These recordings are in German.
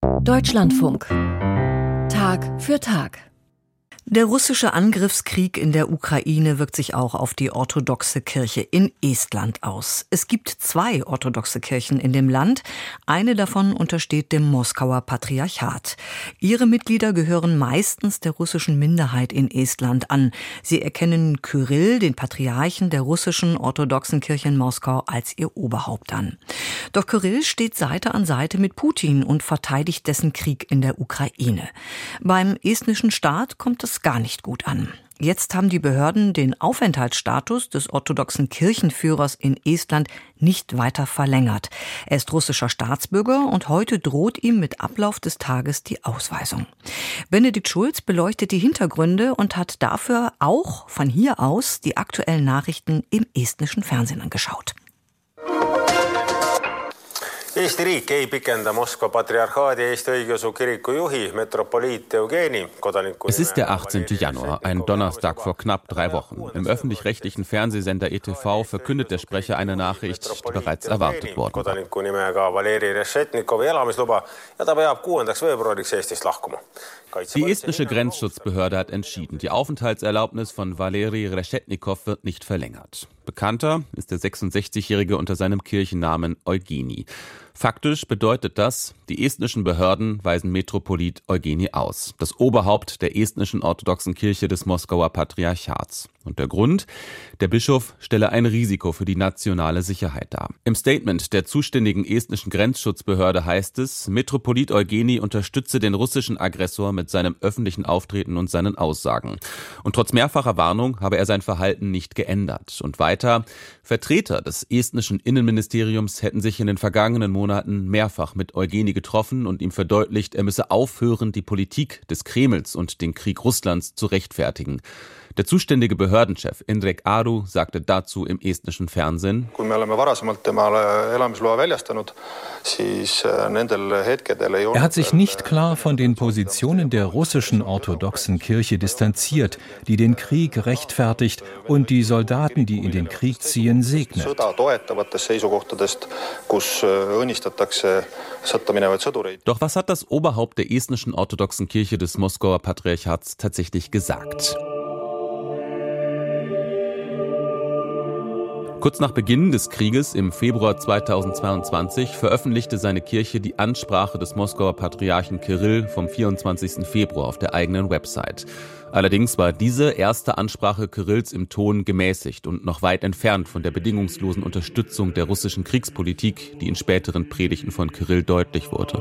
Deutschlandfunk. Tag für Tag. Der russische Angriffskrieg in der Ukraine wirkt sich auch auf die orthodoxe Kirche in Estland aus. Es gibt 2 orthodoxe Kirchen in dem Land. Eine davon untersteht dem Moskauer Patriarchat. Ihre Mitglieder gehören meistens der russischen Minderheit in Estland an. Sie erkennen Kyrill, den Patriarchen der russischen orthodoxen Kirche in Moskau, als ihr Oberhaupt an. Doch Kyrill steht Seite an Seite mit Putin und verteidigt dessen Krieg in der Ukraine. Beim estnischen Staat kommt es gar nicht gut an. Jetzt haben die Behörden den Aufenthaltsstatus des orthodoxen Kirchenführers in Estland nicht weiter verlängert. Er ist russischer Staatsbürger und heute droht ihm mit Ablauf des Tages die Ausweisung. Benedikt Schulz beleuchtet die Hintergründe und hat dafür auch von hier aus die aktuellen Nachrichten im estnischen Fernsehen angeschaut. Eesti riik ei pikenda Moskva Patriarchaadi Eesti Õigeusu Kiriku juhi Metropoliit Eugeni kodaniku. Es ist der 18. Januar, ein Donnerstag vor knapp 3 Wochen. Im öffentlich-rechtlichen Fernsehsender ETV verkündet der Sprecher eine Nachricht, die bereits erwartet worden war. Kodaniku nimega Valeri Reshetnikovi elamisluba ja ta peab 6. veebruariks Eestist lahkuma. Die estnische Grenzschutzbehörde hat entschieden, die Aufenthaltserlaubnis von Valeri Reshetnikov wird nicht verlängert. Bekannter ist der 66-Jährige unter seinem Kirchennamen Eugeni. Faktisch bedeutet das, die estnischen Behörden weisen Metropolit Eugeni aus, das Oberhaupt der estnischen orthodoxen Kirche des Moskauer Patriarchats. Und der Grund? Der Bischof stelle ein Risiko für die nationale Sicherheit dar. Im Statement der zuständigen estnischen Grenzschutzbehörde heißt es, Metropolit Eugeni unterstütze den russischen Aggressor mit seinem öffentlichen Auftreten und seinen Aussagen. Und trotz mehrfacher Warnung habe er sein Verhalten nicht geändert. Und weiter, Vertreter des estnischen Innenministeriums hätten sich in den vergangenen Monaten mehrfach mit Eugeni getroffen und ihm verdeutlicht, er müsse aufhören, die Politik des Kremls und den Krieg Russlands zu rechtfertigen. Der zuständige Behördenchef Indrek Aru sagte dazu im estnischen Fernsehen: Er hat sich nicht klar von den Positionen der russischen orthodoxen Kirche distanziert, die den Krieg rechtfertigt und die Soldaten, die in den Krieg ziehen, segnet. Doch was hat das Oberhaupt der estnischen orthodoxen Kirche des Moskauer Patriarchats tatsächlich gesagt? Kurz nach Beginn des Krieges im Februar 2022 veröffentlichte seine Kirche die Ansprache des Moskauer Patriarchen Kyrill vom 24. Februar auf der eigenen Website. Allerdings war diese erste Ansprache Kyrills im Ton gemäßigt und noch weit entfernt von der bedingungslosen Unterstützung der russischen Kriegspolitik, die in späteren Predigten von Kyrill deutlich wurde.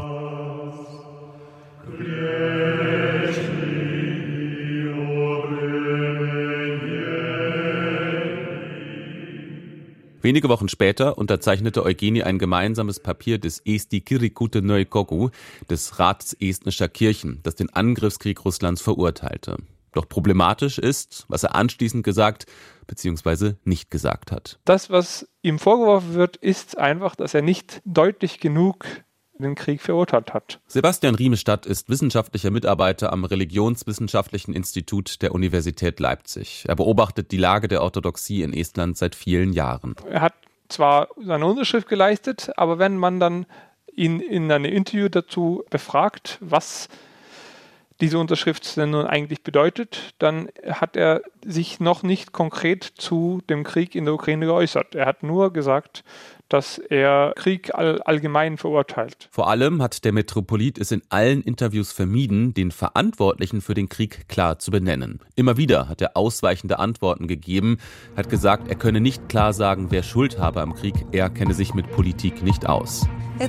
Wenige Wochen später unterzeichnete Eugeni ein gemeinsames Papier des Eesti Kirikute Nõukogu, des Rats estnischer Kirchen, das den Angriffskrieg Russlands verurteilte. Doch problematisch ist, was er anschließend gesagt bzw. nicht gesagt hat. Das, was ihm vorgeworfen wird, ist einfach, dass er nicht deutlich genug den Krieg verurteilt hat. Sebastian Riemestadt ist wissenschaftlicher Mitarbeiter am Religionswissenschaftlichen Institut der Universität Leipzig. Er beobachtet die Lage der Orthodoxie in Estland seit vielen Jahren. Er hat zwar seine Unterschrift geleistet, aber wenn man dann ihn in einem Interview dazu befragt, was diese Unterschrift denn nun eigentlich bedeutet, dann hat er sich noch nicht konkret zu dem Krieg in der Ukraine geäußert. Er hat nur gesagt, dass er Krieg allgemein verurteilt. Vor allem hat der Metropolit es in allen Interviews vermieden, den Verantwortlichen für den Krieg klar zu benennen. Immer wieder hat er ausweichende Antworten gegeben, hat gesagt, er könne nicht klar sagen, wer Schuld habe am Krieg, er kenne sich mit Politik nicht aus.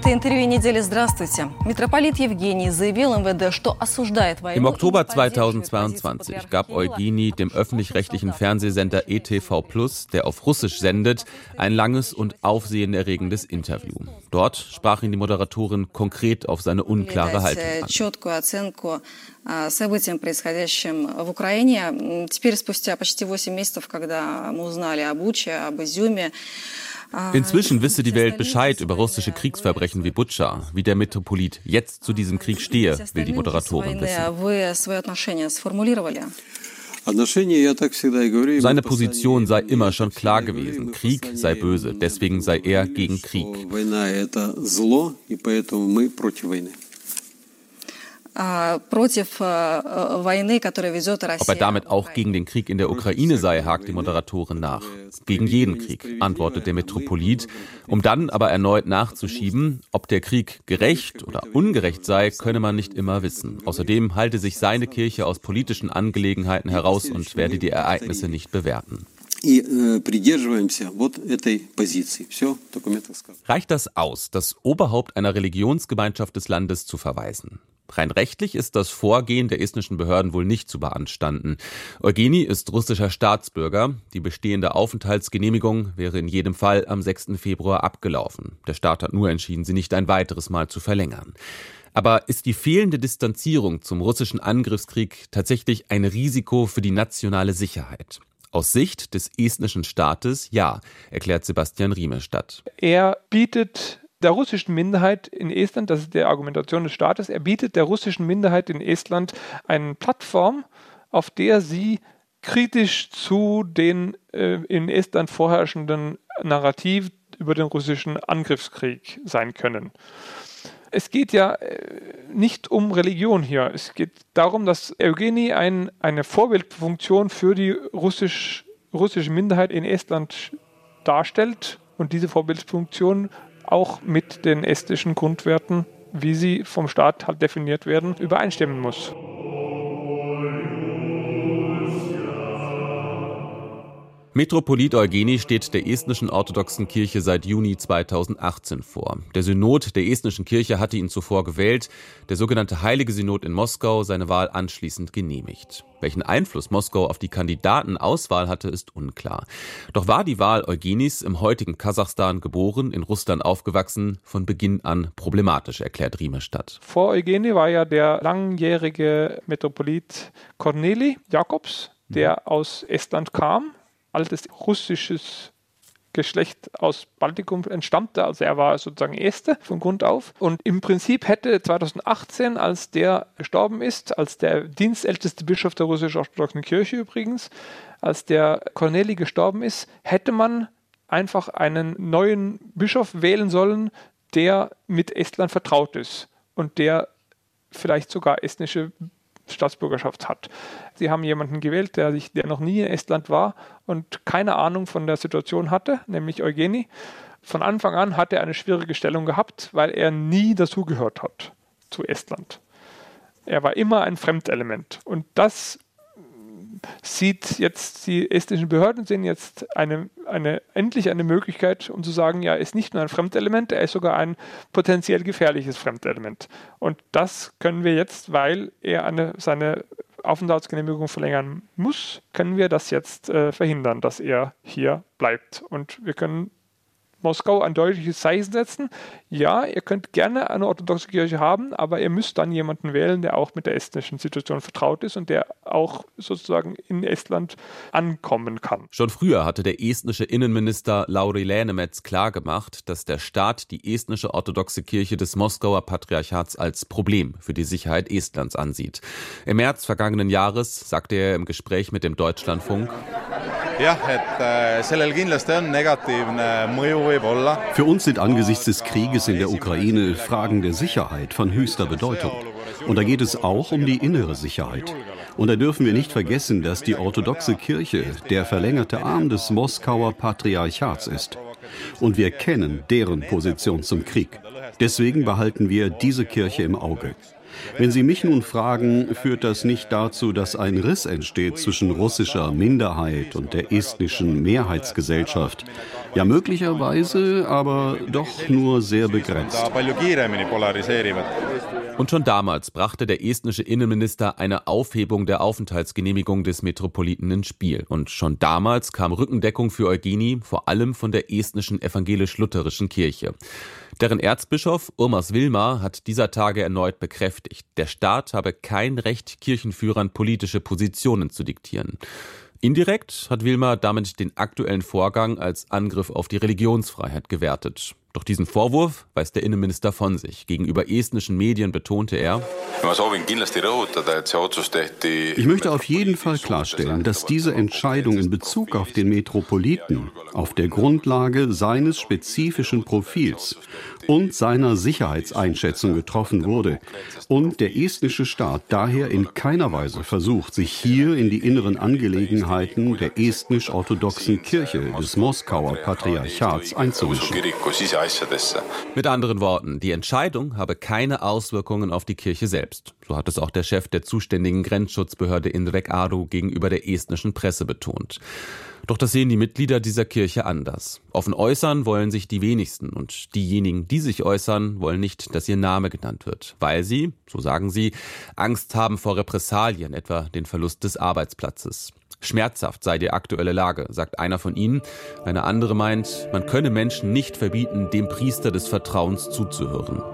Im Oktober 2022 gab Eugeni dem öffentlich-rechtlichen Fernsehsender ETV+, der auf Russisch sendet, ein langes und aufsehenerregendes Interview. Dort sprach ihn die Moderatorin konkret auf seine unklare Haltung an. Событиям, происходящим в Украине. Теперь, спустя почти 8 месяцев, когда мы узнали о Буче, об Изюме. Inzwischen wisse die Welt Bescheid über russische Kriegsverbrechen wie Butscha. Wie der Metropolit jetzt zu diesem Krieg stehe, will die Moderatorin wissen. Seine Position sei immer schon klar gewesen. Krieg sei böse, deswegen sei er gegen Krieg. Ob er damit auch gegen den Krieg in der Ukraine sei, hakt die Moderatorin nach. Gegen jeden Krieg, antwortet der Metropolit, um dann aber erneut nachzuschieben, ob der Krieg gerecht oder ungerecht sei, könne man nicht immer wissen. Außerdem halte sich seine Kirche aus politischen Angelegenheiten heraus und werde die Ereignisse nicht bewerten. Reicht das aus, das Oberhaupt einer Religionsgemeinschaft des Landes zu verweisen? Rein rechtlich ist das Vorgehen der estnischen Behörden wohl nicht zu beanstanden. Eugeni ist russischer Staatsbürger. Die bestehende Aufenthaltsgenehmigung wäre in jedem Fall am 6. Februar abgelaufen. Der Staat hat nur entschieden, sie nicht ein weiteres Mal zu verlängern. Aber ist die fehlende Distanzierung zum russischen Angriffskrieg tatsächlich ein Risiko für die nationale Sicherheit? Aus Sicht des estnischen Staates ja, erklärt Sebastian Riemestadt. Er bietet der russischen Minderheit in Estland, das ist die Argumentation des Staates, er bietet der russischen Minderheit in Estland eine Plattform, auf der sie kritisch zu den in Estland vorherrschenden Narrativ über den russischen Angriffskrieg sein können. Es geht ja nicht um Religion hier. Es geht darum, dass Eugeni eine Vorbildfunktion für die russische Minderheit in Estland darstellt und diese Vorbildfunktion auch mit den estnischen Grundwerten, wie sie vom Staat halt definiert werden, übereinstimmen muss. Metropolit Eugeni steht der estnischen orthodoxen Kirche seit Juni 2018 vor. Der Synod der estnischen Kirche hatte ihn zuvor gewählt, der sogenannte Heilige Synod in Moskau seine Wahl anschließend genehmigt. Welchen Einfluss Moskau auf die Kandidatenauswahl hatte, ist unklar. Doch war die Wahl Eugenis, im heutigen Kasachstan geboren, in Russland aufgewachsen, von Beginn an problematisch, erklärt Riemestadt. Vor Eugeni war ja der langjährige Metropolit Korneli Jakobs, der aus Estland kam. Altes russisches Geschlecht aus Baltikum entstammte, also er war sozusagen Este von Grund auf. Und im Prinzip hätte 2018, als der gestorben ist, als der dienstälteste Bischof der russisch-orthodoxen Kirche übrigens, als der Korneli gestorben ist, hätte man einfach einen neuen Bischof wählen sollen, der mit Estland vertraut ist und der vielleicht sogar estnische Staatsbürgerschaft hat. Sie haben jemanden gewählt, der noch nie in Estland war und keine Ahnung von der Situation hatte, nämlich Eugeni. Von Anfang an hat er eine schwierige Stellung gehabt, weil er nie dazugehört hat zu Estland. Er war immer ein Fremdelement. Und das sieht jetzt, die estnischen Behörden sehen jetzt endlich eine Möglichkeit, um zu sagen, ja, er ist nicht nur ein Fremdelement, er ist sogar ein potenziell gefährliches Fremdelement. Und das können wir jetzt, weil er seine Aufenthaltsgenehmigung verlängern muss, können wir das jetzt verhindern, dass er hier bleibt. Und wir können Moskau ein deutliches Zeichen setzen. Ja, ihr könnt gerne eine orthodoxe Kirche haben, aber ihr müsst dann jemanden wählen, der auch mit der estnischen Situation vertraut ist und der auch sozusagen in Estland ankommen kann. Schon früher hatte der estnische Innenminister Lauri Läänemets klargemacht, dass der Staat die estnische orthodoxe Kirche des Moskauer Patriarchats als Problem für die Sicherheit Estlands ansieht. Im März vergangenen Jahres sagte er im Gespräch mit dem Deutschlandfunk: Für uns sind angesichts des Krieges in der Ukraine Fragen der Sicherheit von höchster Bedeutung. Und da geht es auch um die innere Sicherheit. Und da dürfen wir nicht vergessen, dass die orthodoxe Kirche der verlängerte Arm des Moskauer Patriarchats ist. Und wir kennen deren Position zum Krieg. Deswegen behalten wir diese Kirche im Auge. Wenn Sie mich nun fragen, führt das nicht dazu, dass ein Riss entsteht zwischen russischer Minderheit und der estnischen Mehrheitsgesellschaft? Ja, möglicherweise, aber doch nur sehr begrenzt. Und schon damals brachte der estnische Innenminister eine Aufhebung der Aufenthaltsgenehmigung des Metropoliten ins Spiel. Und schon damals kam Rückendeckung für Eugeni, vor allem von der estnischen evangelisch-lutherischen Kirche. Deren Erzbischof Urmas Vilma hat dieser Tage erneut bekräftigt, der Staat habe kein Recht, Kirchenführern politische Positionen zu diktieren. Indirekt hat Vilma damit den aktuellen Vorgang als Angriff auf die Religionsfreiheit gewertet. Doch diesen Vorwurf weist der Innenminister von sich. Gegenüber estnischen Medien betonte er: Ich möchte auf jeden Fall klarstellen, dass diese Entscheidung in Bezug auf den Metropoliten auf der Grundlage seines spezifischen Profils und seiner Sicherheitseinschätzung getroffen wurde und der estnische Staat daher in keiner Weise versucht, sich hier in die inneren Angelegenheiten der estnisch-orthodoxen Kirche des Moskauer Patriarchats einzumischen. Mit anderen Worten, die Entscheidung habe keine Auswirkungen auf die Kirche selbst. So hat es auch der Chef der zuständigen Grenzschutzbehörde Indrek Aru gegenüber der estnischen Presse betont. Doch das sehen die Mitglieder dieser Kirche anders. Offen äußern wollen sich die wenigsten und diejenigen, die sich äußern, wollen nicht, dass ihr Name genannt wird, weil sie, so sagen sie, Angst haben vor Repressalien, etwa den Verlust des Arbeitsplatzes. Schmerzhaft sei die aktuelle Lage, sagt einer von ihnen. Eine andere meint, man könne Menschen nicht verbieten, dem Priester des Vertrauens zuzuhören.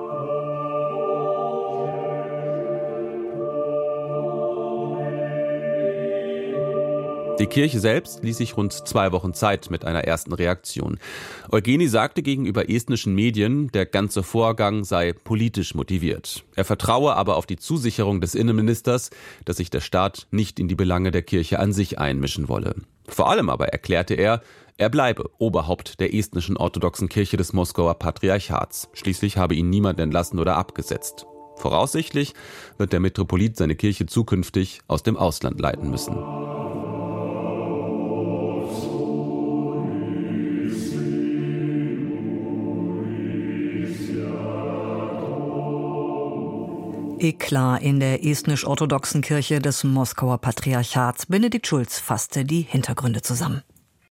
Die Kirche selbst ließ sich rund 2 Wochen Zeit mit einer ersten Reaktion. Eugeni sagte gegenüber estnischen Medien, der ganze Vorgang sei politisch motiviert. Er vertraue aber auf die Zusicherung des Innenministers, dass sich der Staat nicht in die Belange der Kirche an sich einmischen wolle. Vor allem aber erklärte er bleibe Oberhaupt der estnischen orthodoxen Kirche des Moskauer Patriarchats. Schließlich habe ihn niemand entlassen oder abgesetzt. Voraussichtlich wird der Metropolit seine Kirche zukünftig aus dem Ausland leiten müssen. Eklat in der estnisch-orthodoxen Kirche des Moskauer Patriarchats. Benedikt Schulz fasste die Hintergründe zusammen.